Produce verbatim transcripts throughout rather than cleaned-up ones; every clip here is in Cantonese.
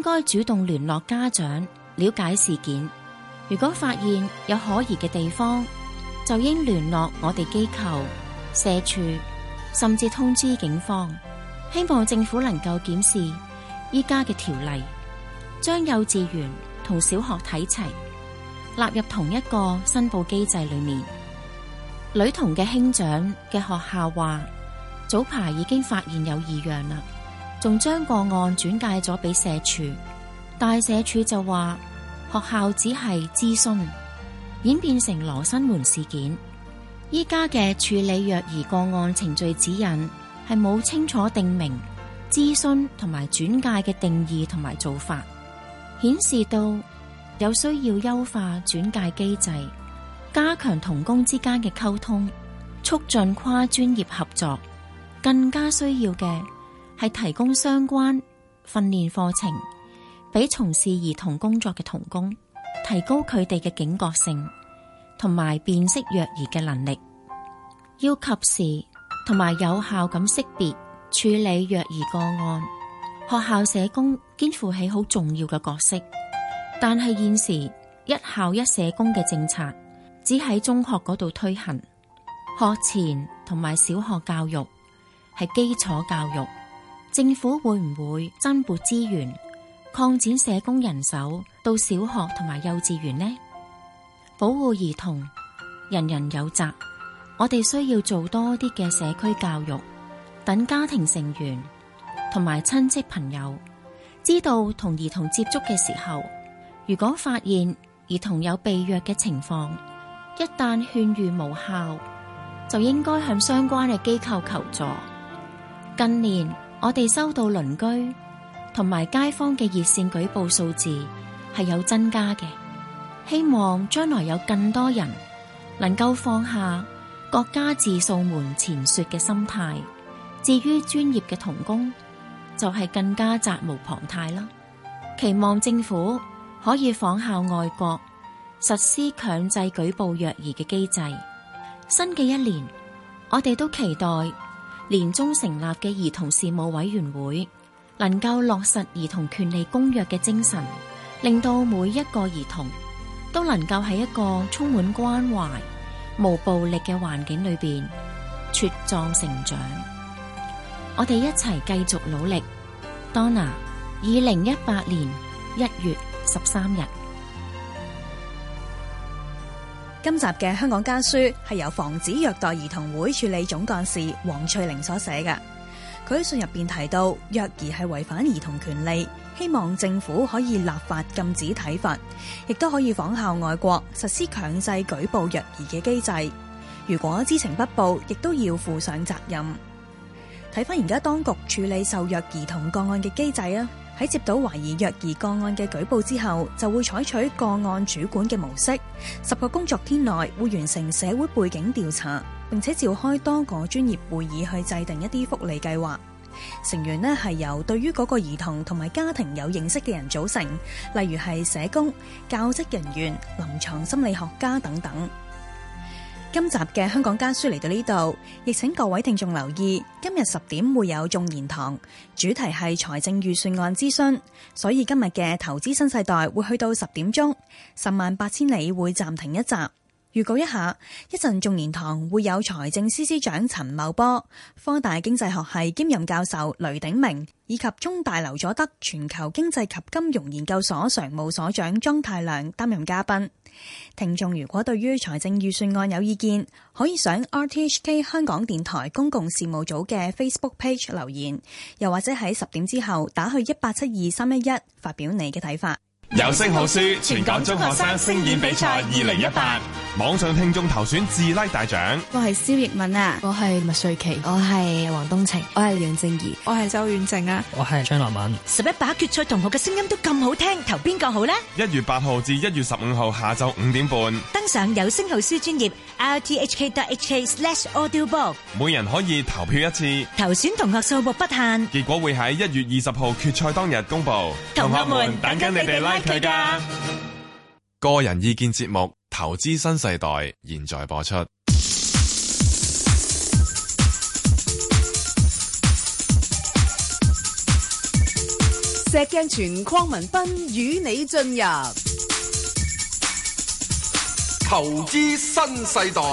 該主動聯絡家長，了解事件。如果發現有可疑嘅地方，就應聯絡我哋機構、社署，甚至通知警方。希望政府能夠檢視依家嘅條例，將幼稚園同小學睇齊，納入同一個申報機制裏面。女童嘅兄長嘅學校話，早排已經發現有異樣啦，仲將個案轉介咗俾社署，但社署就話學校只係諮詢，演變成羅生門事件。依家嘅處理虐兒個案程序指引係冇清楚定明諮詢同埋轉介嘅定義同埋做法，顯示到有需要優化轉介機制，加強同工之間嘅溝通，促進跨專業合作。更加需要嘅係提供相關訓練課程俾從事兒童工作嘅同工，提高佢哋嘅警覺性同埋辨識虐兒嘅能力，要及時同埋有效咁識別處理虐兒個案。學校社工肩負起好重要嘅角色，但係現時一校一社工嘅政策只喺中學嗰度推行，學前同埋小學教育係基礎教育，政府會唔會增撥資源，擴展社工人手到小學同埋幼稚園呢？保護兒童，人人有責，我哋需要做多啲嘅社區教育，等家庭成員同埋親戚朋友知道同兒童接觸嘅時候，如果發現兒童有被虐嘅情況，一旦勸喻無效，就應該向相關嘅機構求助。近年我哋收到鄰居同埋街坊嘅熱線舉報數字係有增加嘅，希望將來有更多人能夠放下各家自掃門前雪嘅心態。至於專業嘅同工，就係更加責無旁貸啦。期望政府可以仿效外國實施強制舉報虐兒嘅機制。新嘅一年，我哋都期待年中成立嘅兒童事務委員會能夠落實兒童權利公約嘅精神，令到每一個兒童都能夠喺一個充滿關懷、無暴力嘅環境裏邊茁壯成長。我哋一齊繼續努力。Donna， 二零一八年一月十三日。 今集嘅香港家書係由防止虐待兒童會處理總幹事黃翠玲所寫嘅。佢喺信入邊提到，虐兒係違反兒童權利，希望政府可以立法禁止體罰，亦都可以仿效外國實施強制舉報虐兒嘅機制。如果知情不報，亦都要負上責任。睇翻而家當局處理受虐兒童個案嘅機制啊，喺接到懷疑虐兒個案嘅舉報之後，就會採取個案主管嘅模式，十個工作天內會完成社會背景調查，並且召開多個專業會議去制定一啲福利計劃。成員呢係由對於嗰個兒童同埋家庭有認識嘅人組成，例如係社工、教職人員、臨床心理學家等等。今集嘅香港家書嚟到呢度，亦請各位聽眾留意，今日十點會有眾言堂，主題係財政預算案諮詢，所以今日嘅投資新世代會去到十點鐘，十萬八千里會暫停一集。預告一下，一陣眾言堂會有財政司司長陳茂波、科大經濟學系兼任教授雷鼎明，以及中大劉佐德全球經濟及金融研究所常務所長莊太量擔任嘉賓。聽眾如果對於財政預算案有意見，可以上 R T H K 香港電台公共事務組嘅 Facebook page 留言，又或者喺十點之後打去一八七二三一一發表你嘅睇法。 有聲好書全港中學生聲演比賽二零一八，網上聽眾投選自拉大獎。 我係蕭奕敏啊，我係麥瑞琪，我係黃東晴，我係梁靜怡，我係周遠靜啊， 我係張樂敏。 十一把決賽同學嘅聲音都咁好聽，投邊個好呢？ 一月八號至一月十五號下晝五點半， 登上有聲好書專頁 r t h k dot h k slash audiobook， 每人可以投票一次， 投選同學數目不限， 結果會喺一月二十號決賽當日公布。 同學們等緊你哋拉佢㗎。 個人意見節目《投資新世代》現在播出。 石鏡泉鄺民彬與你進入投資新世代。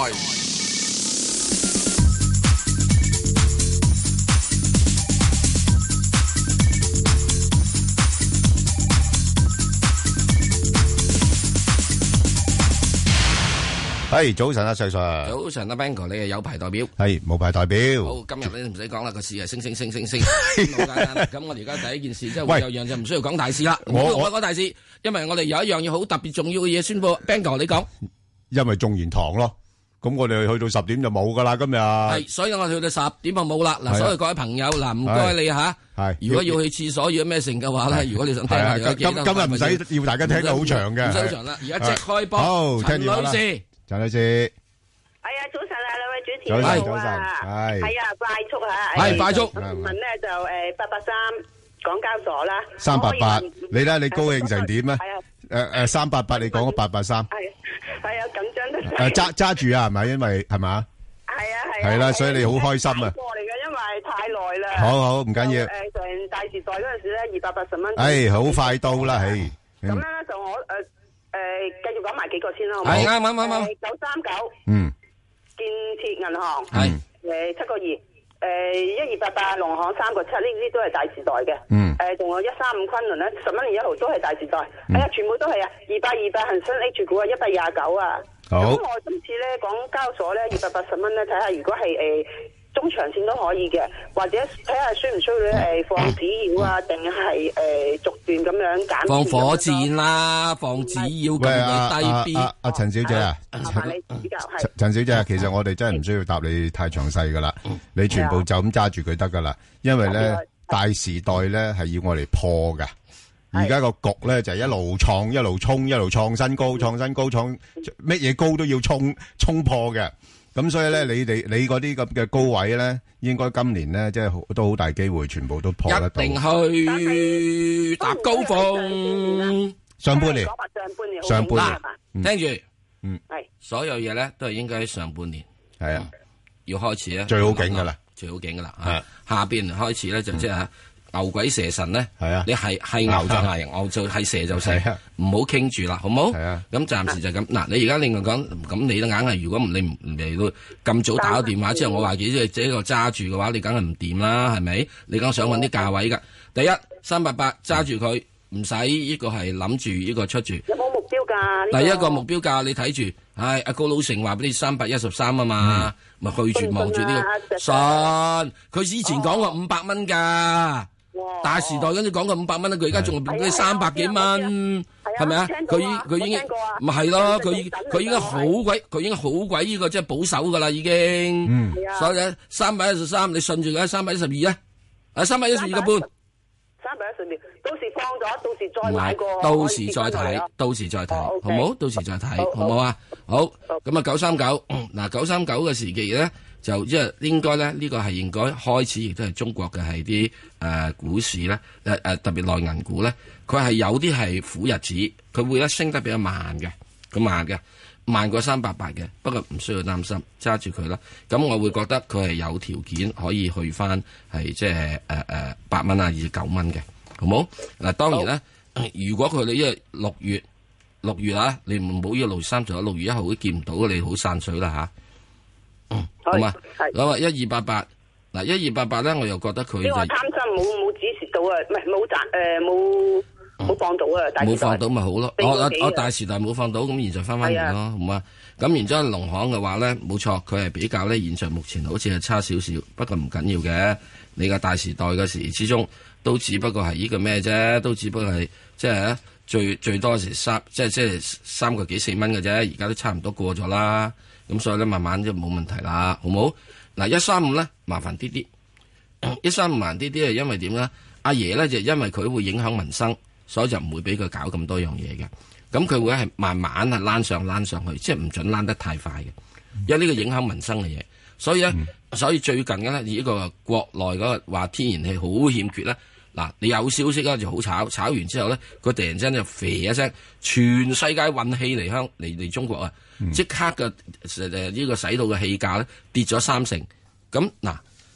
係早晨啊，細 Sir。 早晨啊 ，Bang 哥，你係有牌代表。 係冇牌代表。 好，今日咧唔使講啦，個市係升升升升升，好簡單。咁我哋而家第一件事即係會有樣就唔需要講大事啦。我我講大事，因為我哋有一樣嘢好特別重要嘅嘢宣布。Bang 哥，你講。 因為眾言堂咯，咁我哋去到十點就冇噶啦，今日。係， 所以我哋去到十點就冇啦。嗱，所以各位朋友，嗱，唔該你吓。係。如果要去廁所要咩成嘅話咧，如果你想聽下，今今日唔使要大家聽得好長嘅。唔使好長啦，而家即開波。好，陳女士。陳女士， 係啊，早晨啊，兩位主持早晨， 早晨，係係啊，快速吓， 係快速。 問咧就誒八八三港交所啦， 三八八，你睇下你高興成點啊？誒誒，三八八，你講咗八八三， 係係啊，緊張得。 誒揸揸住啊，係咪？因為係嘛？ 係啊係。係啦，所以你好開心啊。 過嚟嘅，因為太耐啦。 好好，唔緊要。 誒，上大時代嗰陣時咧，二百八十蚊。 誒，好快到啦，唉。 咁咧就我誒。誒，繼續講埋幾個先啦，好唔好？ 係啱啱啱啱。 九三九， 嗯， 建設銀行係誒七個二，誒一二八八農行三個七，呢啲都係大時代嘅。 嗯， 誒仲有一三五昆侖咧，十蚊零一毫都係大時代。哎呀，全部都係啊，二百二百恒生 H 股啊，一百廿九啊。 好。 咁我今次咧港交所咧二百八十蚊咧，睇下如果係誒。中長線都可以嘅，或者睇下需唔需要咧誒放紙鷂啊，定係誒逐段咁樣減。 放火箭啦，放紙鷂咁嘅低 B。 阿阿陳小姐啊，陳陳小姐，其實我哋真係唔需要答你太詳細噶啦，你全部就咁揸住佢得噶啦，因為咧大時代咧係要我嚟破噶，而家個局咧就係一路創一路衝一路創新高，創新高創乜嘢高都要衝衝破嘅。咁所以咧，你哋你嗰啲咁嘅高位咧，應該今年咧，即係都好大機會，全部都破得到。 一定去搭高峰。 上半年，上半年，聽住， 嗯， 係所有嘢咧都係應該喺上半年， 係啊， 要開始咧， 最好景噶啦， 最好景噶啦，係下邊開始咧就即係。牛鬼蛇神咧， 係啊， 你係係牛就係牛，就係蛇就蛇，唔好傾住啦，好唔好？ 係啊， 咁暫時就咁。嗱，你而家另外講，咁你都硬係，如果唔你唔嚟到咁早打個電話之後，我話幾即係即係個揸住嘅話，你梗係唔掂啦，係咪？你梗想揾啲價位㗎。第一三八八揸住佢，唔使呢個係諗住呢個出住。 有冇目標價？ 第一個目標價你睇住，唉，阿高老成話俾你三百一十三啊嘛，咪去住望住呢個信。佢以前講過五百蚊㗎。大時代跟住講個五百蚊啦，佢而家仲係俾你三百幾蚊，係咪啊？佢已佢已經咪係咯，佢佢已經好鬼，佢已經好鬼呢個即係保守噶啦，已經。 嗯。 所以咧，三百一十三，你順住佢，三百一十二啊，啊，三百一十二個半。 三百一十二，到時放咗，到時再買過。 到時再睇，到時再睇，好唔好？到時再睇，好唔好啊？好。咁啊，九三九，嗱，九三九嘅時期咧。就即係應該咧，呢、這個係應該開始，亦都係中國嘅係啲誒股市咧，誒、呃、誒特別內銀股咧，佢係有啲係苦日子，佢會咧升得比較慢嘅，咁慢嘅，慢過三百八嘅，不過唔需要擔心，揸住佢啦。咁我會覺得佢係有條件可以去翻係即係誒誒八蚊啊，二十九蚊嘅，好冇？嗱，當然咧，如果佢哋因為六月六月啊，你唔好一路三十一，六月一號都見唔到，你好散水啦嚇。嗯，好嘛，咁啊，一二八八，嗱，一二八八咧，我又覺得佢就貪心，冇冇指示到啊，唔係冇賺誒，冇冇放到啊， 冇放到咪好咯，我我我大時代冇放到，咁現在翻翻嚟咯，好嘛，咁然之後農行嘅話咧，冇錯，佢係比較咧，現在目前好似係差少少，不過唔緊要嘅，你個大時代嘅時之中，都只不過係呢個咩啫，都只不過係即係最最多時三，即係即係三個幾四蚊嘅啫，而家都差唔多過咗啦。咁所以咧，慢慢就冇問題啦，好冇？嗱，一三五咧，麻煩啲啲，一三五麻煩啲啲係因為點咧？阿爺咧就因為佢會影響民生，所以就唔會俾佢搞咁多樣嘢嘅。咁佢會係慢慢係躝上躝上去，即係唔准躝得太快嘅，因為呢個影響民生嘅嘢。所以咧，嗯、所以最近嘅咧，呢個國內嗰個話天然氣好欠缺咧。嗱，你有消息咧就好炒，炒完之後咧，佢突然之間就肥一聲，全世界運氣嚟香嚟嚟中國啊！即、嗯、刻嘅誒呢個使到嘅氣價咧跌咗三成。咁嗱，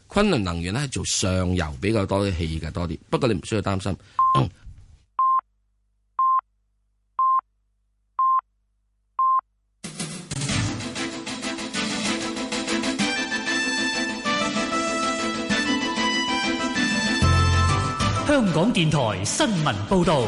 昆侖能源咧係做上游比較多啲氣嘅多啲，不過你唔需要擔心。嗯香港電台新聞報道。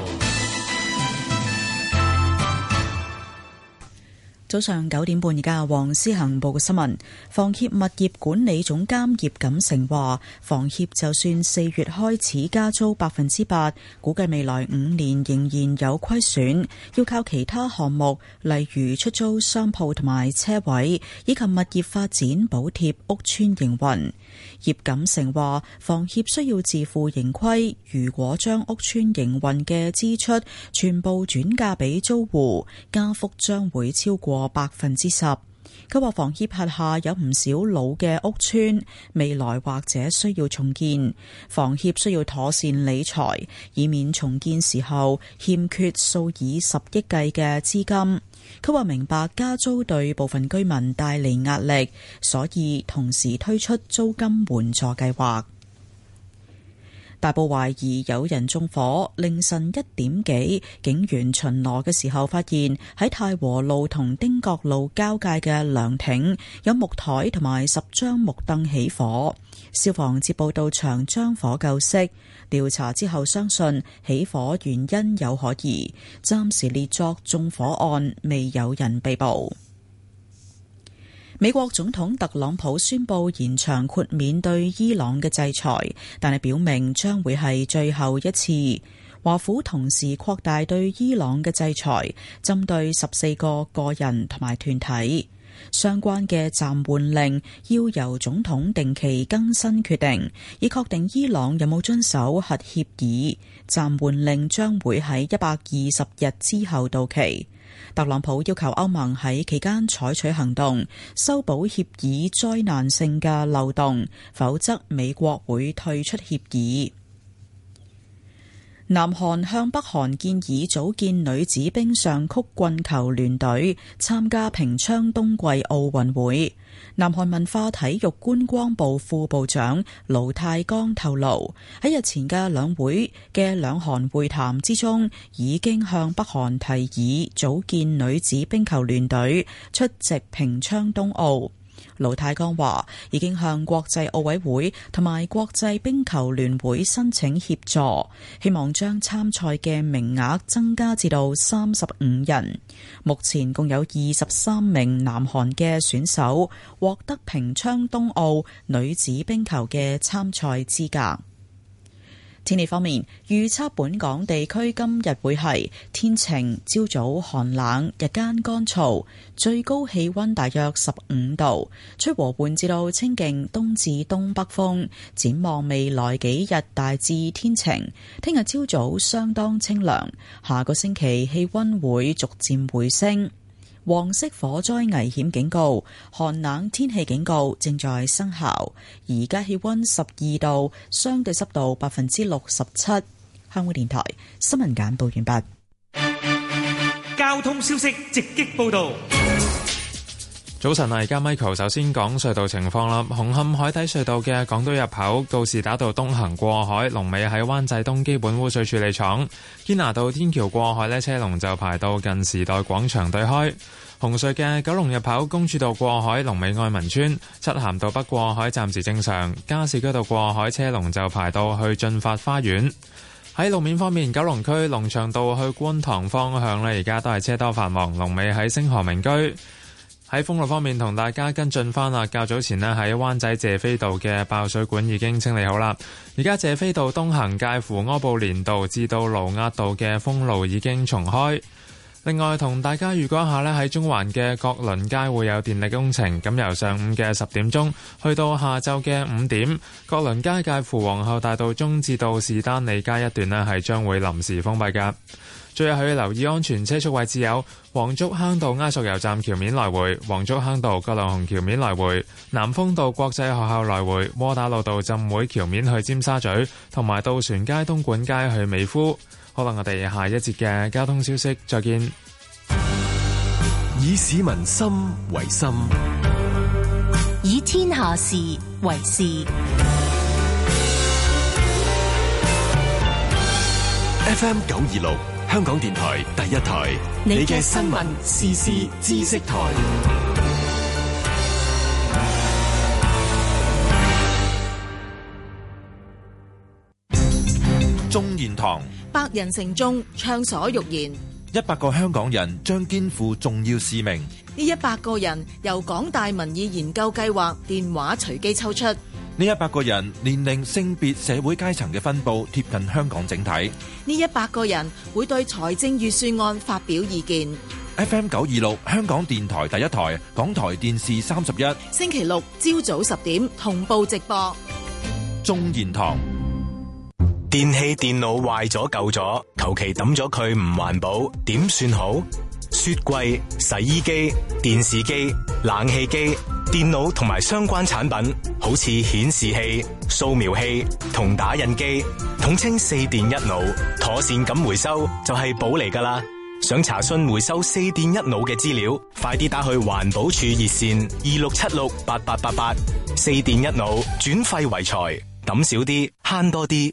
早上九點半，而家黃思恒報嘅新聞。房協物業管理總監葉錦成話，房協就算四月開始加租百分之八，估計未來五年仍然有虧損，要靠其他項目，例如出租商鋪同埋車位，以及物業發展補貼屋邨營運。葉錦成話，房協需要自負盈虧，如果將屋邨營運嘅支出全部轉嫁俾租戶，加幅將會超過百分之十。佢話房協轄下有唔少老嘅屋邨，未來或者需要重建，房協需要妥善理財，以免重建時候欠缺數以十億計嘅資金。佢話明白加租對部分居民帶嚟壓力，所以同時推出租金援助計劃。大埔懷疑有人縱火，凌晨一點幾，警員巡邏嘅時候發現喺太和路同汀角路交界嘅涼亭有木台同埋十張木凳起火，消防接報到場將火救熄。調查之後相信起火原因有可疑，暫時列作縱火案，未有人被捕。美國總統特朗普宣布延長豁免對伊朗嘅制裁，但係表明將會係最後一次。華府同時擴大對伊朗嘅制裁，針對十四個個人同埋團體。相關嘅暫緩令要由總統定期更新決定，以確定伊朗有冇遵守核協議。暫緩令將會喺一百二十日之後到期。特朗普要求歐盟喺期間採取行動，修補協議災難性嘅漏洞，否則美國會退出協議。南韓向北韓建議組建女子冰上曲棍球聯隊，參加平昌冬季奧運會。南韓文化體育觀光部副部長盧泰剛透露，喺日前嘅兩會嘅兩韓會談之中，已經向北韓提議組建女子冰球聯隊，出席平昌冬奧。盧泰剛話已經向國際奧委會同埋國際冰球聯會申請協助，希望將參賽嘅名額增加至到三十五人。目前共有二十三名南韓嘅選手獲得平昌冬奧女子冰球嘅參賽資格。天氣方面，預測本港地區今日會係天晴，朝早寒冷，日間乾燥，最高氣溫大約十五度，吹和緩至到清勁東至東北風。展望未來幾日大致天晴，聽日朝早相當清涼，下個星期氣溫會逐漸回升。黃色火災危險警告、寒冷天氣警告正在生效。而家氣溫十二度，相對濕度百分之六十七。香港電台新聞簡報完畢。 交通消息直擊報道。 早晨啊，而家 Michael 首先講隧道情況啦。紅磡海底隧道嘅港島入口告士打道東行過海，龍尾喺灣仔東基本污水處理廠；堅拿道天橋過海呢，車龍就排到近時代廣場對開。紅隧嘅九龍入口公主道過海，龍尾愛民村；漆咸道北過海暫時正常，加士居道過海車龍就排到去駿發花園。喺路面方面，九龍區龍翔道去觀塘方向呢，而家都係車多繁忙，龍尾喺星河名居。喺封路方面，同大家跟進翻啦。較早前呢，喺灣仔謝斐道嘅爆水管已經清理好啦。而家謝斐道東行介乎柯布連道至到盧押道嘅封路已經重開。另外，同大家預告一下呢，喺中環嘅國倫街會有電力工程，咁由上午嘅十點鐘去到下晝嘅五點，國倫街介乎皇后大道中至到士丹利街一段呢，係將會臨時封閉㗎。最後要留意安全車速位置有黃竹坑道埃索油站橋面來回、黃竹坑道葛量洪橋面來回、南豐道國際學校來回、窩打老道浸會橋面去尖沙咀，同埋渡船街東莞街去美孚。可能我哋下一節嘅交通消息再見。 以市民心為心， 以天下事為事。 F M 九二六香港電台第一台，你嘅新聞時事知識台。 眾言堂， 百人成眾，暢所欲言。 一百個香港人將肩負重要使命。 呢一百個人由港大民意研究計劃電話隨機抽出。 呢一百個人年齡、性別、社會階層嘅分佈貼近香港整體。 呢一百個人會對財政預算案發表意見。 F M 九二六香港電台第一台，港台電視三十一， 星期六朝早十點同步直播。 眾言堂。 電器電腦壞咗舊咗，求其抌咗佢唔環保，點算好？雪櫃、洗衣機、電視機、冷氣機、電腦同埋相關產品，好似顯示器、掃描器同打印機，統稱四電一腦，妥善咁回收就係寶嚟㗎喇。想查詢回收四電一腦嘅資料，快啲打去環保署熱線二六七六八八八八。四電一腦，轉廢為財，抌少啲，慳多啲。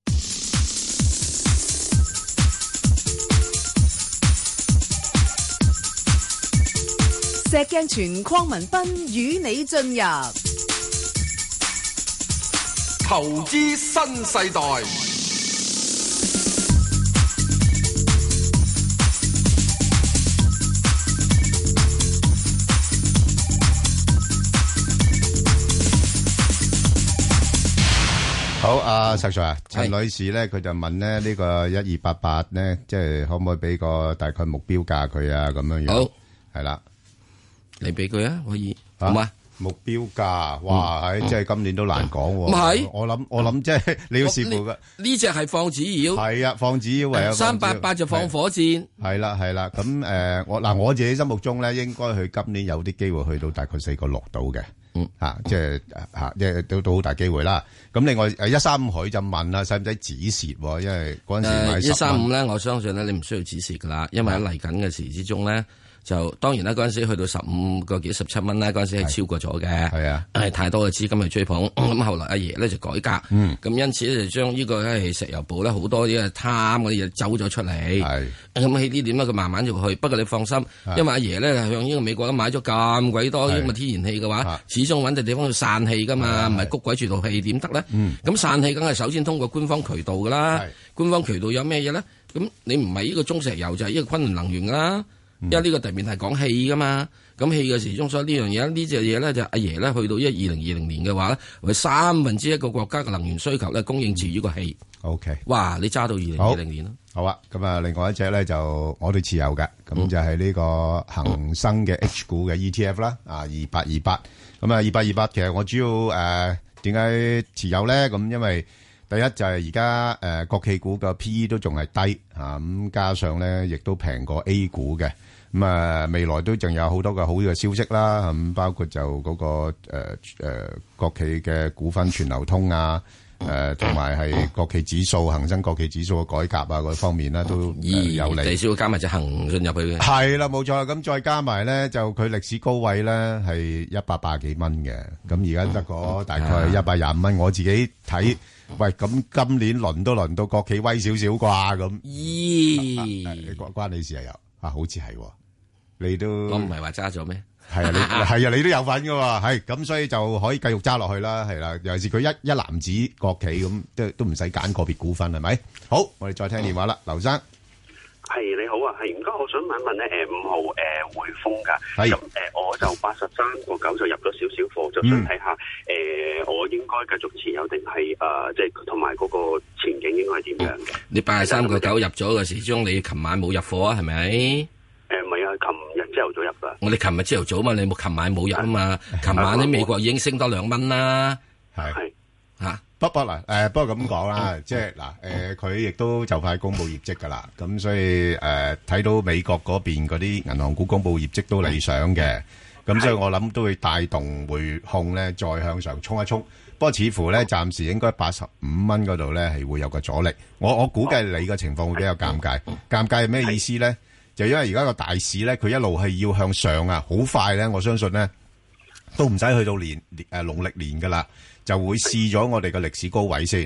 石鏡泉鄺民彬與你進入投資新世代。 好，阿石 Sir 啊，陳女士咧，佢就問咧呢個一二八八咧，即係可唔可以俾個大概目標價佢啊？咁樣樣好，係啦。 你俾佢啊，可以好嘛？ 目標價，哇，係即係今年都難講。 唔係， 我諗我諗即係你要視乎嘅。 呢隻係放紙鷂， 係啊，放紙鷂唯有三八八就放火箭。 係啦係啦，咁誒，我嗱我自己心目中咧，應該佢今年有啲機會去到大概四個六度嘅。嗯，吓，即係吓，即係都都好大機會啦。咁另外誒，一三五佢就問啦，使唔使止蝕？因為嗰陣時買十蚊。 一三五咧，我相信咧，你唔需要止蝕噶啦，因為喺嚟緊嘅時之中咧。就當然啦，嗰陣時去到十五個幾十七蚊咧，嗰陣時係超過咗嘅，係啊，係太多嘅資金去追捧。咁、嗯、後來阿爺咧就改革，咁、嗯、因此咧就將呢個係石油部咧好多啲貪嗰啲嘢走咗出嚟。係咁喺呢點咧，佢慢慢就去。不過你放心，因為阿爺咧向呢個美國都買咗咁鬼多呢個天然氣嘅話，始終揾隻地方去散氣噶嘛，唔係谷鬼住套氣點得咧？咁、嗯、散氣梗係首先通過官方渠道噶啦，官方渠道有咩嘢咧？咁你唔係呢個中石油就係、是、呢個昆侖能源噶啦。因為呢個特別係講氣噶嘛，咁氣嘅時鐘，所以呢樣嘢呢隻嘢咧就阿爺咧去到一二零二零年嘅話咧，為三分之一個國家嘅能源需求咧供應至於個氣。O K，哇，你揸到二零二零年咯。 好啊，咁啊，另外一隻咧就我哋持有嘅，咁、嗯、就係呢個恒生嘅 H 股嘅 E T F 啦，啊二八二八，咁啊二八二八，其實我主要誒點解持有咧？咁因為第一就係而家誒國企股嘅 P E 都仲係低啊，咁加上咧亦都平過 A 股嘅。咁啊，未來都仲有好多嘅好嘅消息啦，咁包括就嗰、那個誒誒、呃、國企嘅股份全流通啊，誒同埋係國企指數、恒生國企指數嘅改革啊嗰方面咧都、呃、有利。 第少加埋隻恒信入去嘅。 係啦，冇錯。咁再加埋咧，就佢歷史高位咧係一百八十幾蚊嘅，咁而家得個大概一百廿五蚊。我自己睇，喂，咁今年輪都輪到國企威少少啩咁。咦、啊？關關你事啊？有啊？好似係。你都我唔係話揸咗咩？ 係啊，你係啊，你都有份噶喎，係咁，所以就可以繼續揸落去啦，係啦。尤其是佢一一籃子國企咁，都都唔使揀個別股份，係咪？好，我哋再聽電話啦，劉生。 係你好啊，係唔該，我想問一問咧，誒五號誒匯豐噶，咁誒我就八十三個九就入咗少少貨，就想睇下誒我應該繼續持有定係誒即係同埋嗰個前景應該係點樣嘅？ 你八十三個九入咗嘅時鐘，你琴晚冇入貨啊？係咪？ 誒，唔係啊，琴日朝頭早入噶。 我哋琴日朝頭早嘛，你冇琴晚冇入啊嘛。琴晚喺美國已經升多兩蚊啦。 係吓， 不不嗱，誒，不過咁講啦，即係嗱，誒，佢亦都就快公布業績噶啦。咁所以誒，睇到美國嗰邊嗰啲銀行股公布業績都理想嘅。咁所以我諗都會帶動匯控咧再向上衝一衝。不過似乎咧，暫時應該八十五蚊嗰度咧係會有個阻力。我我估計你嘅情況會比較尷尬。尷尬係咩意思咧？就因為而家個大市咧，佢一路係要向上啊，好快咧，我相信咧都唔使去到年誒農曆年噶啦，就會試咗我哋嘅歷史高位先。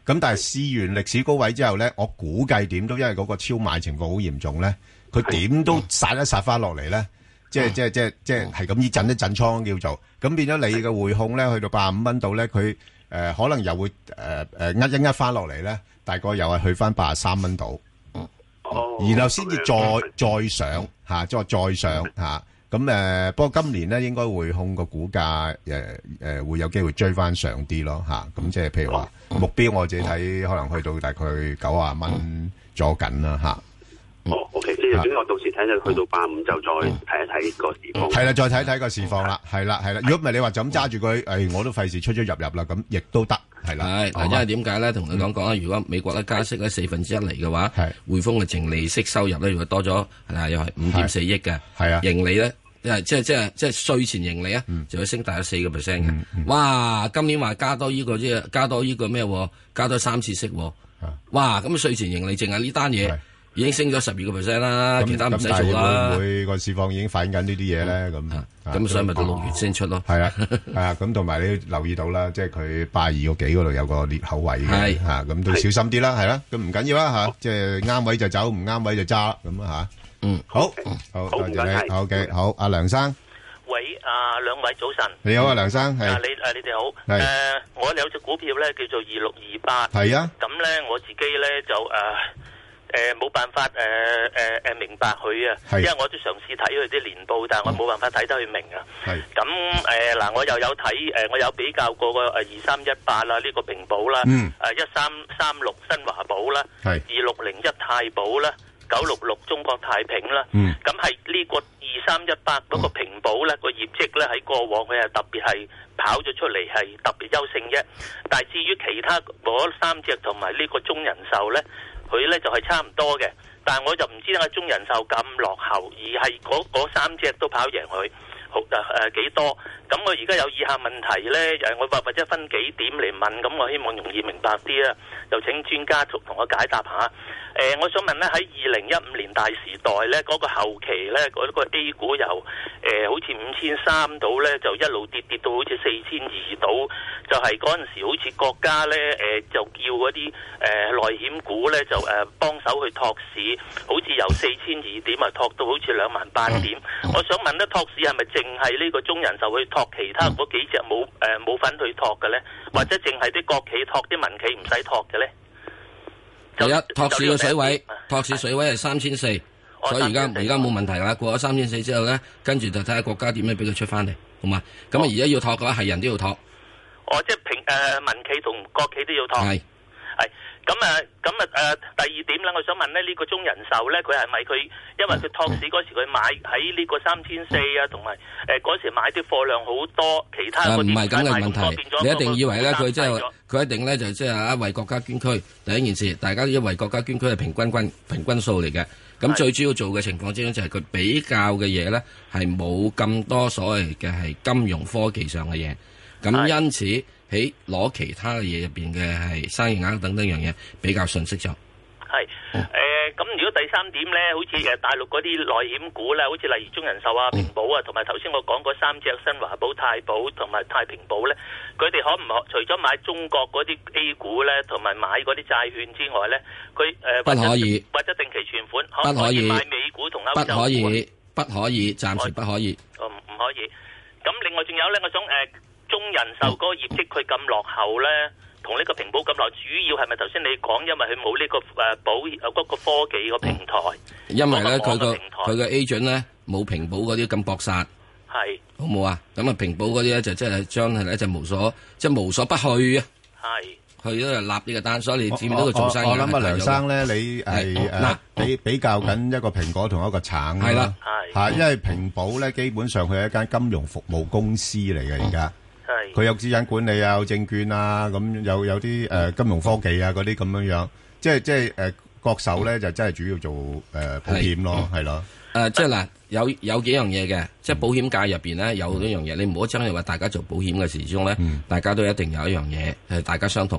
咁但係試完歷史高位之後咧，我估計點都因為嗰個超買情況好嚴重咧，佢點都殺一殺翻落嚟咧，即係即係即係即係係咁依震一震倉叫做，咁變咗你嘅匯控咧去到八十五蚊度咧，佢誒可能又會誒誒呃一一翻落嚟咧，大概又係去翻八十三蚊度，然後先至再再上嚇，即係再上嚇。咁誒，不過今年咧應該匯控個股價誒誒會有機會追翻上啲咯嚇。咁即係譬如話目標，我自己睇可能去到大概九啊蚊左緊啦嚇。 哦，OK， 即係總之我到時睇睇去到八五就再睇一睇個市況。 係啦，再睇睇個市況啦，係啦係啦。如果唔係你話就咁揸住佢，誒我都費事出出入入啦，咁亦都得係啦。 係嗱，因為點解咧？同你講講啊，如果美國咧加息咧四分之一嚟嘅話，匯豐嘅淨利息收入咧，如果多咗係又係五點四億嘅，係啊，盈利咧。即係即係即係即係稅前盈利啊，嗯、就會升大約四個 percent 嘅。嗯嗯、哇！今年話加多呢、這個即係加多呢個咩？加多三次息。哇！咁稅前盈利淨係呢單嘢已經升咗十二個 percent 啦，其他唔使做啦。 會唔會個市況已經反映緊呢啲嘢咧？咁咁所以咪到六月先出咯。 係啊係啊，咁同埋你留意到啦，即係佢八二個幾嗰度有個裂口位嘅嚇，咁都小心啲啦，係啦。咁唔緊要啦嚇，即係啱位就走，唔啱位就揸咁啊嚇。嗯，好，好，多謝你，好嘅，好，阿梁生， 喂，啊，兩位早晨， 你好啊，梁生，係， 啊，你，誒，你哋好，誒，我有隻股票咧叫做二六二八， 係啊， 咁咧我自己咧就誒誒冇辦法誒誒誒明白佢啊，因為我都嘗試睇佢啲年報，但係我冇辦法睇得佢明啊，係，咁誒嗱，我又有睇誒，我有比較過個誒二三一八啦，呢個平保啦，嗯，誒一三三六新華保啦，係，二六零一太保啦。九六六中國太平啦，咁係呢個二三一八嗰個平保咧個業績咧喺過往佢係特別係跑咗出嚟係特別優勝啫，但係至於其他嗰三隻同埋呢個中人壽咧，佢咧就係差唔多嘅，但係我就唔知點解中人壽咁落後，而係嗰嗰三隻都跑贏佢，好誒誒幾多？咁我而家有以下問題咧，誒我或或者分幾點嚟問，咁我希望容易明白啲啦，就請專家同同我解答下。誒、呃，我想問咧，喺二零一五年大時代咧，嗰、那個後期咧，嗰、那個 A 股由誒、呃、好似五千三到咧，就一路跌跌到好似四千二到，就係嗰陣時好似國家咧誒、呃，就叫嗰啲誒內險股咧就誒、呃、幫手去托市，好似由四千二點啊托到好似兩萬八點。我想問咧，托市係咪淨係呢個中人壽去托，其他嗰幾隻冇誒冇份去托嘅咧？或者淨係啲國企托，啲民企唔使托嘅咧？ 第一托市嘅水位，托市水位係三千四，所以而家而家冇問題啦。過咗三千四之後咧，跟住就睇下國家點樣俾佢出翻嚟，好嘛？咁啊，而家要托嘅話，係人都要托。 哦，即係平誒民企同國企都要托。係係咁啊，咁啊誒，第二點咧，我想問咧，呢、這個中人壽咧，佢係咪佢因為佢托市嗰時佢買喺呢個三千四啊，同埋誒嗰時買啲貨量好多，其他嗰啲唔係咁嘅問題。 你一定以為咧，佢即係佢一定咧就即係啊為國家捐軀第一件事，大家都為國家捐軀係平均均平均數嚟嘅。咁最主要做嘅情況之中就係佢比較嘅嘢咧係冇咁多所謂嘅係金融科技上嘅嘢，咁因此喺攞其他嘅嘢入邊嘅係生意額等等樣嘢比較順適咗。 係誒，咁、呃、如果第三點咧，好似誒大陸嗰啲內險股咧，好似例如中人壽啊、平保啊，同埋頭先我講嗰三隻新華保、太保同埋太平保咧，佢哋可唔可除咗買中國嗰啲 A 股咧，同埋買嗰啲債券之外咧，佢誒、呃、 不可以或者定期存款， 不可以買美股同歐洲股？ 不可以，不可以，暫時不可以。 哦，唔可以。咁另外仲有咧，我想誒、呃、中人壽嗰個業績佢咁落後咧。同呢個平保咁耐，主要係咪頭先你講，因為佢冇呢個誒保誒嗰個科技個平台？ 因為咧，佢個佢個 agent 咧冇平保嗰啲咁搏殺，係好冇啊！咁啊，平保嗰啲咧就即係將係咧就無所即係無所不去啊！係去咗就立呢個單，所以你見到佢做生意。 我諗啊，梁生咧，你係誒比比較緊一個蘋果同一個橙係啦， 係嚇，因為平保咧基本上佢係一間金融服務公司嚟嘅而家。佢有資產管理啊，有證券啊，咁有有啲誒金融科技啊嗰啲咁樣樣，即係即係誒國壽咧就真係主要做誒保險咯，係咯。 誒即係嗱，有有幾樣嘢嘅，即係保險界入邊咧有呢樣嘢，你唔好真係話大家做保險嘅時鐘咧，大家都一定有一樣嘢係大家相同。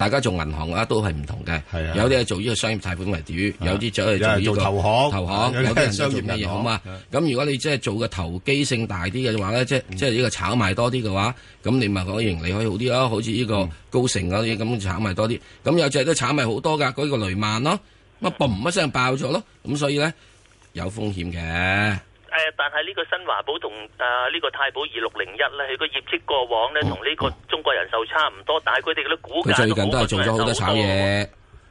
大家做銀行嘅話都係唔同嘅， 係有啲係做呢個商業貸款為主，有啲就係做呢個投行， 投行，有啲人就做咩嘢好嘛？咁如果你即係做嘅投機性大啲嘅話咧，即係即係呢個炒賣多啲嘅話，咁你咪可以盈利可以好啲咯，好似呢個高盛嗰啲咁炒賣多啲。咁有隻都炒賣好多㗎，嗰個雷曼咯，咁啊嘣一聲爆咗咯，咁所以咧有風險嘅。 誒，但係呢個新華保同誒呢個太保二六零一咧，佢個業績過往咧同呢個中國人壽差唔多，但係佢哋嗰啲股價佢最近都係做咗好多炒嘢。誒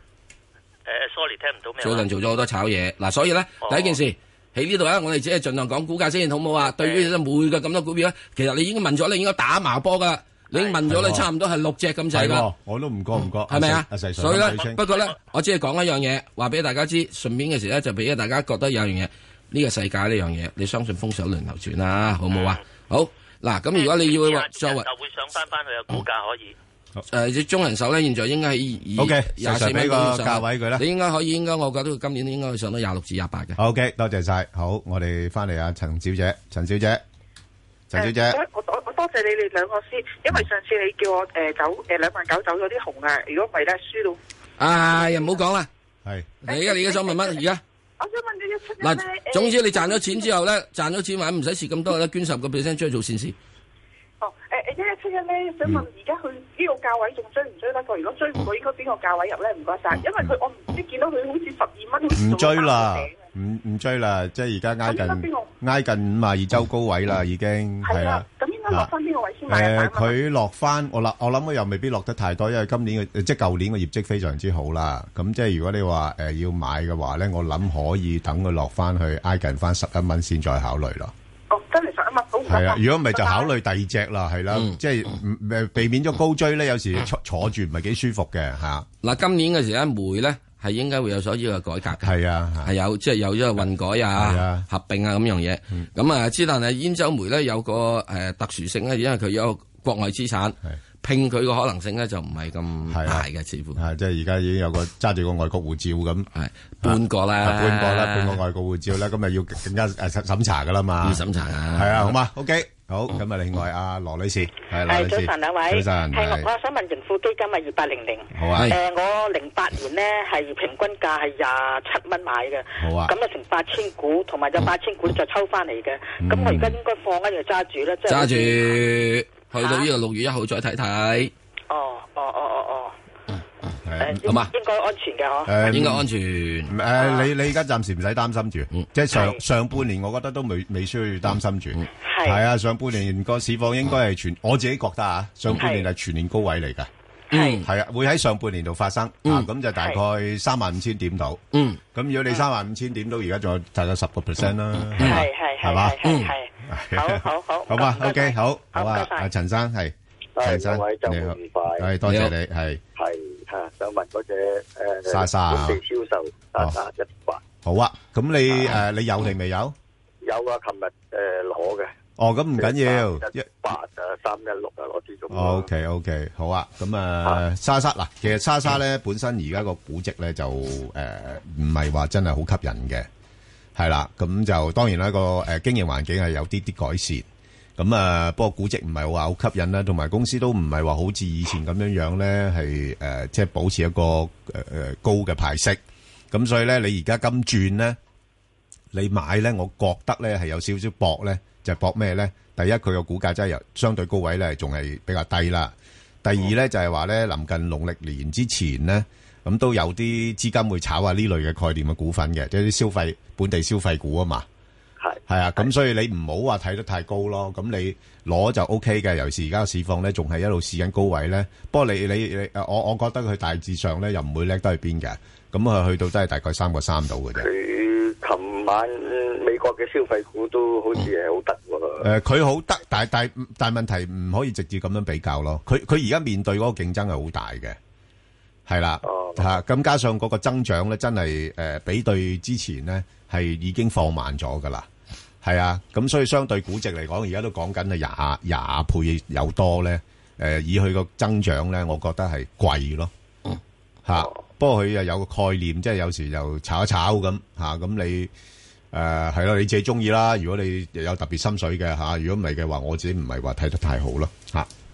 ，sorry， 聽唔到咩？ 最近做咗好多炒嘢，嗱，所以咧第一件事喺呢度咧，我哋只係盡量講股價先，好唔好啊？對於每個咁多股票咧，其實你已經問咗，你應該打麻波噶，你已經問咗你差唔多係六隻咁滯噶。 我都唔覺唔覺， 係咪啊？所以咧，不過咧，我只係講一樣嘢，話俾大家知，順便嘅時咧就俾大家覺得有樣嘢。呢個世界呢樣嘢，你相信風水輪流轉啦，好冇啊？好嗱，咁如果你要話作為， 就會上翻翻去嘅股價可以。 誒，中人壽咧，現在應該係以廿四蚊個價位佢啦。 你應該可以，應該我覺得今年應該會上到廿六至廿八嘅。 OK，多謝晒。好，我哋翻嚟啊，陳小姐，陳小姐，陳小姐。 我我我多謝你哋兩個先，因為上次你叫我誒走誒兩萬九走咗啲紅啊，如果唔係咧輸到。 哎呀，唔好講啦。 係。 你而家你而家想問乜而家？ 我想問你一七嗱，總之你賺咗錢之後咧，賺咗錢話唔使蝕咁多啦，捐十個 percent 出去做善事。 哦，誒誒，一一七一咧，想問而家佢呢個價位仲追唔追得過？如果追唔過，應該邊個價位入咧？唔該晒，因為佢我唔知見到佢好似十二蚊， 唔追啦，唔唔追啦，即係而家挨近挨近五十二周高位啦，已經係啦。 咁應該落翻邊個位先買？ 誒，佢落翻我諗，我諗佢又未必落得太多，因為今年嘅即係舊年嘅業績非常之好啦。咁即係如果你話誒要買嘅話咧，我諗可以等佢落翻去挨近翻十一蚊先再考慮咯。 哦，真係十一蚊好唔係啊，如果唔係就考慮第二隻啦，係啦，即係誒避免咗高追咧，有時坐坐住唔係幾舒服嘅嚇。 嗱，今年嘅時咧，煤咧係應該會有所呢個改革嘅， 係啊， 係有即係有咗個混改啊、合併啊咁樣嘢。咁啊，之但係兗州煤咧有個誒特殊性咧，因為佢有國外資產，拼佢個可能性咧就唔係咁大嘅，似乎係即係而家已經有個揸住個外國護照咁， 係半個啦， 半個啦，半個外國護照啦，咁咪要更加誒審查噶啦嘛， 要審查啊， 係啊，好嘛 ，OK。好，咁啊，另外阿羅女士，係羅女士， 早晨兩位， 早晨， 係我我想問盈富基金啊，二八零零， 好啊， 誒，我零八年咧係平均價係廿七蚊買嘅， 好啊， 咁啊成八千股，同埋有八千股就抽翻嚟嘅，咁我而家應該放啊定係揸住咧？即係揸住，去到呢個六月一號再睇睇。 哦，哦，哦，哦，哦。 係， 好嘛？ 應該安全嘅嗬。 誒， 應該安全。 誒，你你而家暫時唔使擔心住，即係上上半年，我覺得都未未需要擔心住。係。係啊，上半年個市況應該係全，我自己覺得啊，上半年係全年高位嚟㗎。 嗯。 係啊，會喺上半年度發生。啊，咁就大概三萬五千點度。嗯。咁如果你三萬五千點到而家仲有大概十個 percent 啦。 係係係。係嘛？嗯。係。好好好。 好嘛？OK，好。好啊。阿陳生係。陳生，你好。係，多謝你。係。係。 吓，想問嗰隻誒， 莎莎啊， 本地銷售莎莎一八。 好啊，咁你誒，你有定未有？ 有啊，琴日誒攞嘅。 哦，咁唔緊要， 一八誒三一六啊，攞啲咁。 O K O K，好啊，咁啊，莎莎嗱，其實莎莎咧本身而家個估值咧就誒唔係話真係好吸引嘅，係啦，咁就當然啦個誒經營環境係有啲啲改善。咁啊，不過估值唔係話好吸引啦，同埋公司都唔係話好似以前咁樣樣咧，係誒即係保持一個誒誒高嘅派息。咁所以咧，你而家金轉咧，你買咧，我覺得咧係有少少搏咧，就係搏咩咧？第一，佢個股價真係由相對高位咧，仲係比較低啦。第二咧就係話咧，臨近農曆年之前咧，咁都有啲資金會炒下呢類嘅概念嘅股份嘅，即係啲消費本地消費股啊嘛。係係啊，咁所以你唔好話睇得太高咯。咁你攞就 O K 嘅，尤其是而家個市況咧，仲係一路試緊高位咧。不過你你你，我我覺得佢大致上咧又唔會叻得去邊嘅。咁啊，去到都係大概三個三度嘅啫。 佢琴晚美國嘅消費股都好似係好得喎。 誒，佢好得，但係但係但係問題唔可以直接咁樣比較咯。佢佢而家面對嗰個競爭係好大嘅，係啦嚇。咁加上嗰個增長咧，真係誒比對之前咧係已經放慢咗噶啦。係啊，咁所以相對估值嚟講，而家都講緊係廿廿倍有多咧。誒，以佢個增長咧，我覺得係貴咯。嚇，不過佢又有個概念，即係有時又炒一炒咁嚇。咁你誒係咯，你自己中意啦。如果你有特別心水嘅嚇，如果唔係嘅話，我自己唔係話睇得太好咯。嚇，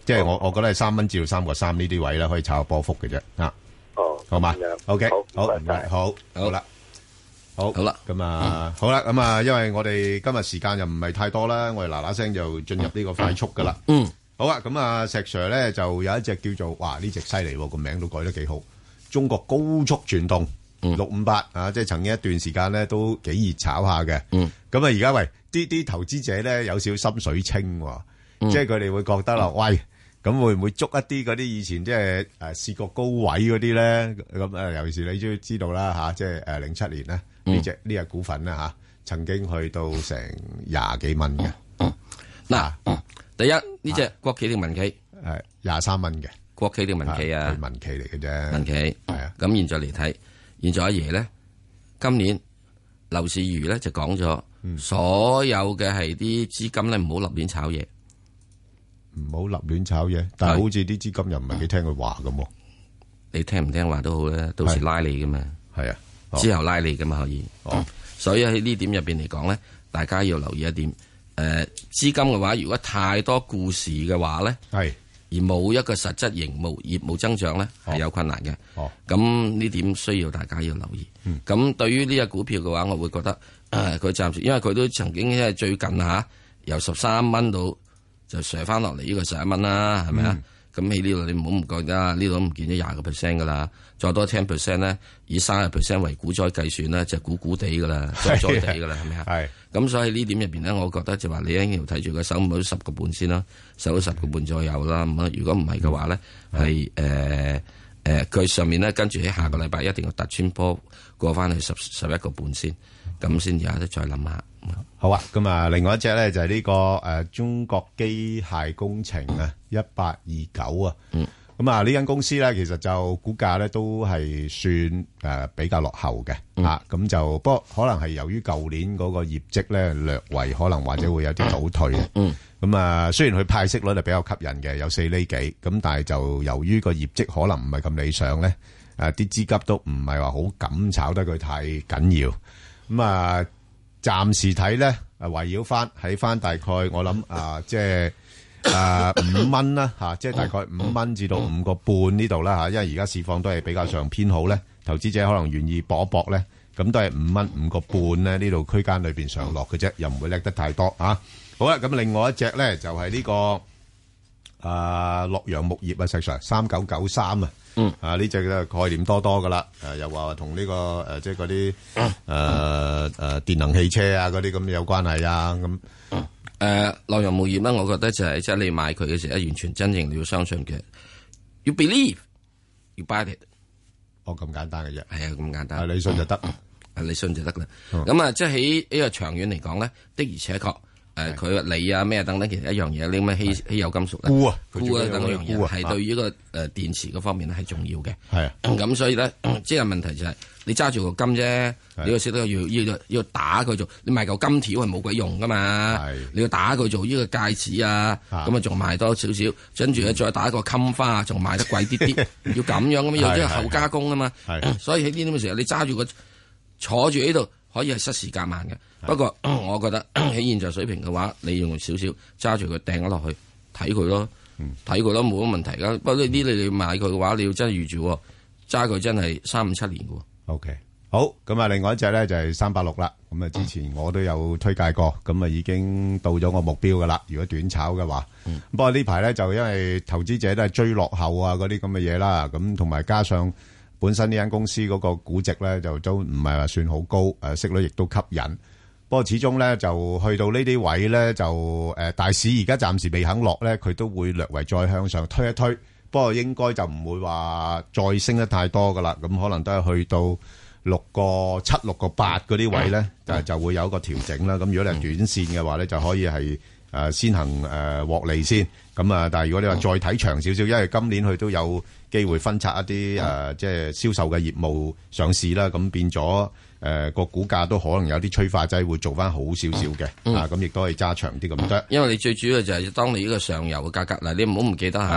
即係我我覺得係三蚊至到三個三呢啲位咧，可以炒下波幅嘅啫。啊， 哦， 好嘛 ，OK，好， 好， 唔該，好，好啦，好， 好啦， 咁啊，好啦，咁啊，因為我哋今日時間又唔係太多啦，我哋嗱嗱聲就進入呢個快速噶啦。 嗯， 好啊，咁啊，石 Sir 咧就有一隻叫做，哇，呢隻犀利喎，個名都改得幾好，中國高速傳動。六五八啊，即係曾經一段時間咧都幾熱炒下嘅。嗯，咁啊而家喂啲啲投資者咧有少少心水清，即係佢哋會覺得啦，喂，咁會唔會捉一啲嗰啲以前即係誒試過高位嗰啲咧？咁誒尤其是你都知道啦吓，即係誒零七年咧呢隻呢隻股份咧吓，曾經去到成廿幾蚊嘅。 嗱，第一呢隻國企定民企？ 誒廿三蚊嘅國企定民企啊？ 係民企嚟嘅啫。 民企係啊。咁現在嚟睇。現在阿爺咧，今年樓市如咧就講咗，嗯、所有嘅係啲資金咧唔好立亂炒嘢， 唔好立亂炒嘢。但係好似啲資金又唔係幾聽佢話咁。 你聽唔聽話都好咧，到時拉你噶嘛。係啊，哦、之後拉你噶嘛可以。哦，所以喺呢點入邊嚟講咧，大家要留意一點。誒、呃，資金嘅話，如果太多故事嘅話咧，係。而冇一個實質營務業務增長咧，係有困難嘅。哦，咁呢點需要大家要留意。咁、嗯、對於呢隻股票嘅話，我會覺得佢、呃、暫時，因為佢都曾經因為最近嚇、啊、由十三蚊到就上翻落嚟呢個十一蚊啦，係咪啊？咁喺呢度你唔好唔覺得，呢度唔見咗廿個 percent 噶啦，再多 ten percent 咧，以三十 percent 為股災計算咧，就估估地噶啦，災災地噶啦，係咪啊？係。咁所以呢點入邊咧，我覺得就話你一定要睇住佢守唔到十個半先啦，守到十個半左右啦。咁啊，如果唔係嘅話咧，係誒誒，佢上面咧跟住喺下個禮拜一定要突穿波過翻去十十一個半先，咁先有得再諗下。 好啊，咁啊，另外一隻咧就係呢個誒中國機械工程啊，一八二九啊。嗯。咁啊，呢間公司咧，其實就股價咧都係算誒比較落後嘅啊。咁就不過可能係由於舊年嗰個業績咧略為可能或者會有啲倒退。嗯。咁啊，雖然佢派息率係比較吸引嘅，有四厘幾，咁但係就由於個業績可能唔係咁理想咧，誒啲資金都唔係話好敢炒得佢太緊要。咁啊。暫時睇咧，誒圍繞翻喺翻大概我諗啊，即係誒五蚊啦嚇，即係大概五蚊至到五個半呢度啦嚇，因為而家市況都係比較上偏好咧，投資者可能願意搏一搏咧，咁都係五蚊五個半咧呢度區間裏邊上落嘅啫，又唔會叻得太多啊。好啦，咁另外一隻咧就係呢個啊洛陽木業啊，石 Sir三九九三啊。嗯，啊呢隻嘅概念多多噶啦，誒又話同呢個誒即係嗰啲誒誒電能汽車啊嗰啲咁有關係啊咁。 誒洛陽木業咧，我覺得就係即係你買佢嘅時候，完全真正你要相信嘅。You believe, you buy it。 哦，咁簡單嘅啫。 係啊，咁簡單。 你信就得， 你信就得啦。咁啊，即係喺呢個長遠嚟講咧，的而且確。誒佢鋰啊咩等等，其實一樣嘢，你咁嘅稀稀有金屬咧，鈷啊鈷啊等樣嘢，係對於個誒電池嗰方面咧係重要嘅。係啊，咁所以咧，即係問題就係你揸住個金啫，你要識得要要要打佢做，你賣嚿金條係冇鬼用噶嘛。係，你要打佢做呢個戒指啊，咁啊仲賣多少少，跟住咧再打一個襟花，仲賣得貴啲啲，要咁樣咁樣，要即係後加工啊嘛。係，所以喺呢啲咁嘅時候，你揸住個坐住喺度。可以係失時夾慢嘅，不過我覺得喺現在水平嘅話，你用少少揸住佢掟咗落去睇佢咯，睇佢咯冇乜問題噶。不過呢啲你你買佢嘅話，你要真係預住揸佢真係三五七年嘅。 O K，好，咁啊，另外一隻咧就係三八六啦。咁啊，之前我都有推介過，咁啊已經到咗我目標噶啦。如果短炒嘅話，嗯、不過呢排咧就因為投資者都係追落後啊嗰啲咁嘅嘢啦，咁同埋加上。本身呢間公司嗰個估值咧就都唔係話算好高，誒息率亦都吸引。不過始終咧就去到呢啲位咧就誒大市而家暫時未肯落咧，佢都會略為再向上推一推。不過應該就唔會話再升得太多噶啦，咁可能都係去到六個七、六個八嗰啲位咧，就就會有一個調整啦。咁如果你係短線嘅話咧，就可以係誒先行誒獲利先。咁啊，但係如果你話再睇長少少，因為今年佢都有機會分拆一啲誒、呃，即係銷售嘅業務上市啦，咁變咗誒個股價都可能有啲催化劑會做翻好少少嘅，嗯、啊咁亦都可以揸長啲咁多。 因為你最主要就係當你呢個上游嘅價格嗱，你唔好唔記得嚇，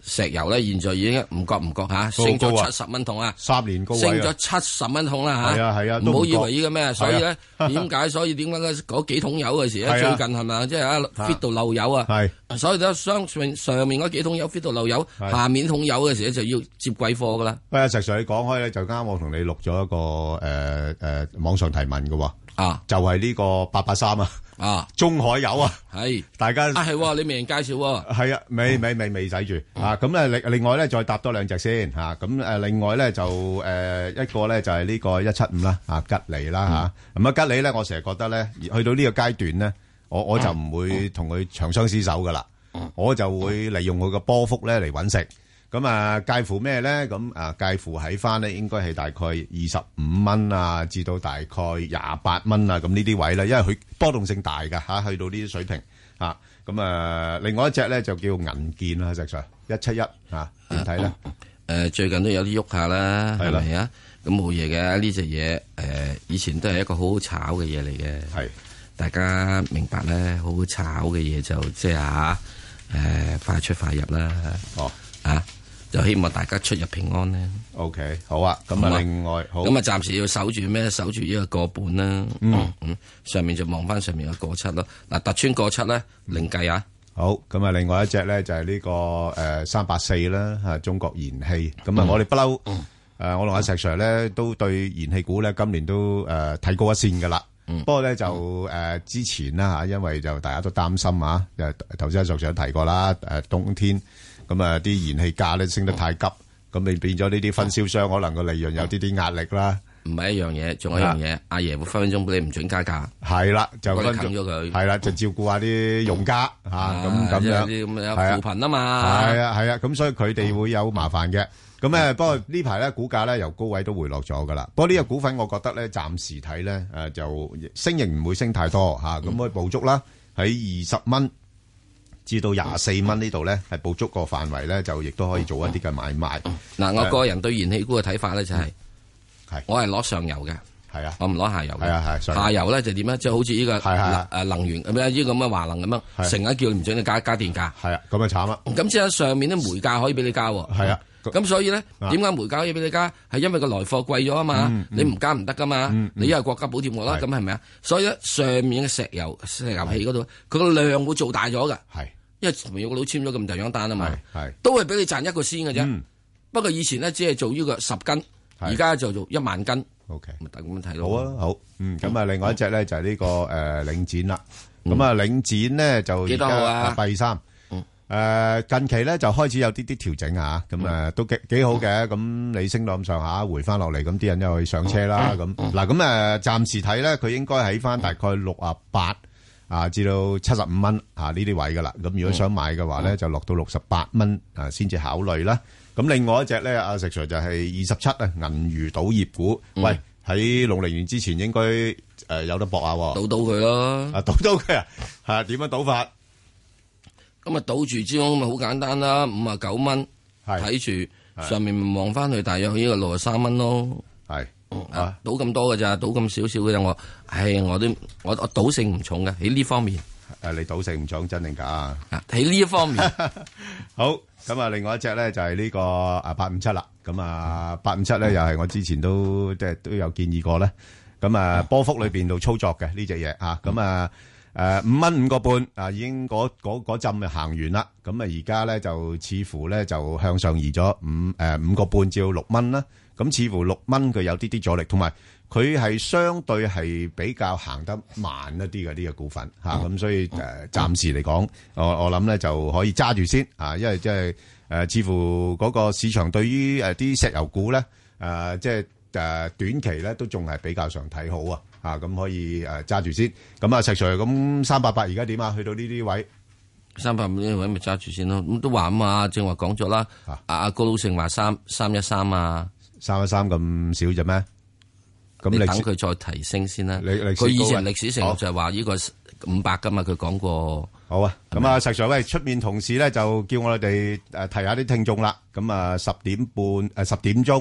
石油咧，現在已經唔覺唔覺嚇，升咗七十蚊桶啊！ 三年高位升咗七十蚊桶啦嚇！ 係啊係啊， 唔好以為呢個咩，所以咧點解？所以點解嗰幾桶油嘅時咧，最近係咪即係啊 fit 到漏油啊？係，所以咧上上上面嗰幾桶油 fit 到漏油，下面桶油嘅時咧就要接貴貨噶啦。喂，阿石 Sir，你講開咧，就啱我同你錄咗一個誒誒網上提問嘅喎。啊，就係呢個八八三啊，啊，中海油啊，係，大家啊係，你未人介紹喎， 係啊，未未未未使住啊，咁咧另另外咧再搭多兩隻先吓，咁誒另外咧就誒一個咧就係呢個一七五啦，啊吉利啦吓，咁啊吉利咧我成日覺得咧去到呢個階段咧，我我就唔會同佢長相廝守噶啦，我就會利用佢個波幅咧嚟搵食。咁啊，介乎咩咧？咁啊，介乎喺翻咧，應該係大概二十五蚊啊，至到大概廿八蚊啊，咁呢啲位咧，因為佢波動性大㗎嚇，去到呢啲水平啊。咁啊，另外一隻咧就叫銀建啦，石 Sir 一七一啊，點睇咧？ 誒，最近都有啲喐下啦，係咪啊？咁冇嘢嘅呢隻嘢，誒，以前都係一個好好炒嘅嘢嚟嘅，係大家明白咧，好好炒嘅嘢就即係嚇誒，快出快入啦，哦啊！就希望大家出入平安咧。 OK， 好啊。咁啊，另外好。 咁啊，暫時要守住咩？守住呢個個半啦。嗯嗯。上面就望翻上面個個七咯。嗱，突穿個七咧，另計啊。 好。咁啊，另外一隻咧就係呢個誒三八四啦，嚇中國燃氣。咁啊，我哋不嬲誒，我同阿石 Sir 咧都對燃氣股咧今年都誒睇高一線噶啦。不過咧就誒之前啦嚇，因為就大家都擔心啊，誒頭先阿石 Sir 提過啦，誒冬天。咁啊，啲燃氣價咧升得太急，咁你變咗呢啲分銷商可能個利潤有啲啲壓力啦。 唔係一樣嘢，仲有一樣嘢，阿爺會分分鐘俾你唔准加價。 係啦，就分咗佢。 係啦，就照顧下啲用家嚇，咁咁樣。 啲咁樣扶貧啊嘛。 係啊係啊，咁所以佢哋會有麻煩嘅。咁誒，不過呢排咧股價咧由高位都回落咗噶啦。不過呢個股份我覺得咧暫時睇咧誒就升型唔會升太多嚇，咁可以捕捉啦喺二十蚊。至到廿四蚊呢度咧，係捕捉個範圍咧，就亦都可以做一啲嘅買賣。 嗱，我個人對燃氣股嘅睇法咧就係，係我係攞上游嘅， 係啊， 我唔攞下游嘅， 係啊係。 下游咧就點咧？即係好似呢個誒能源咁樣，呢個咁嘅華能咁樣，成日叫你唔准你加加電價， 係啊，咁啊慘啦。 咁即係上面啲煤價可以俾你加， 係啊。 咁所以咧，點解煤價可以俾你加？係因為個來貨貴咗啊嘛，你唔加唔得噶嘛，你因為國家補貼我啦，咁係咪啊？所以咧，上面嘅石油石油氣嗰度，佢個量會做大咗㗎。係。因為同有個佬簽咗咁大張單啊嘛，都係俾你賺一個先嘅啫。嗯、不過以前咧只係做呢個十斤，而家就做一萬斤。O K，咁咁樣睇咯。 好啊，好。嗯，咁啊，另外一隻咧就係呢個誒領展啦。咁啊，領展咧就幾多號啊？ 八二三。誒，近期咧就開始有啲啲調整啊，咁誒都幾幾好嘅。咁你升到咁上下，回翻落嚟，咁啲人又去上車啦。咁嗱，咁誒暫時睇咧，佢應該喺翻大概六啊八。啊，至到七十五蚊啊呢啲位噶啦，咁如果想買嘅話咧，就落到六十八蚊啊，先至考慮啦。咁另外一隻咧，阿石 Sir 就係二十七啊，銀娛賭業股。喂，喺農曆年之前應該誒有得搏下， 賭到佢咯。 啊，賭到佢啊，係點樣賭法？ 咁啊，賭住之中咪好簡單啦，五啊九蚊，睇住上面咪望翻去，大約呢個六十三蚊咯。係。啊，賭咁多嘅咋，賭咁少少嘅咋我，唉，我都我我賭性唔重嘅喺呢方面。 誒，你賭性唔重真定假啊？ 喺呢一方面， 好咁啊，另外一隻咧就係呢個啊八五七啦。咁啊八五七咧又係我之前都即係都有建議過咧。咁啊波幅裏邊度操作嘅呢隻嘢啊。咁啊誒五蚊五個半啊，已經嗰嗰嗰陣就行完啦。咁啊而家咧就似乎咧就向上移咗五誒五個半至到六蚊啦。咁似乎六蚊佢有啲啲阻力，同埋佢係相對係比較行得慢一啲嘅呢個股份嚇，咁所以誒暫時嚟講，我我諗咧就可以揸住先啊，因為即係誒似乎嗰個市場對於誒啲石油股咧誒即係誒短期咧都仲係比較上睇好啊，啊咁可以誒揸住先。咁啊石 Sir 咁三百八而家點啊？去到呢啲位？ 三百五呢位咪揸住先咯。咁都話啊嘛，正話講咗啦。阿阿高老成話三三一三啊。 三一三咁少啫咩？咁你等佢再提升先啦。佢以前歷史成就係話呢個五百噶嘛，佢講過。 好啊，咁啊，石 Sir 喂，出面同事咧就叫我哋誒提下啲聽眾啦。咁啊，十點半誒十點鐘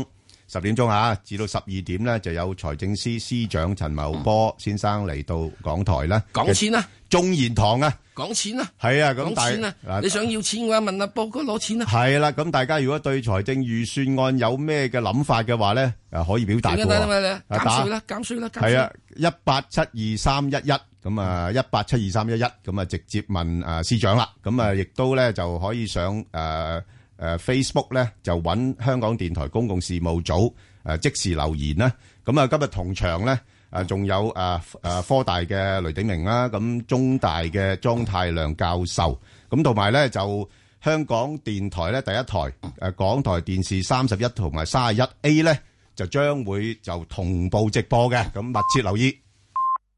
十點鐘啊，至到十二點咧，就有財政司司長陳茂波先生嚟到港台啦。 講錢啊， 眾言堂啊， 講錢啊， 係啊，咁講錢啊，你想要錢嘅話，問阿波哥攞錢啊。 係啦，咁大家如果對財政預算案有咩嘅諗法嘅話咧，誒可以表達嘅。 減稅啦，減稅啦， 係啊，一八七二三一一。咁啊，一八七二三一一，咁啊直接問誒司長啦。咁啊，亦都咧就可以上誒誒 Facebook 咧，就揾香港電台公共事務組誒即時留言啦。咁啊，今日同場咧誒仲有誒誒科大嘅雷鼎明啦，咁中大嘅莊太亮教授，咁同埋咧就香港電台咧第一台誒港台電視三十一同埋三十一 A 咧，就將會就同步直播嘅，咁密切留意。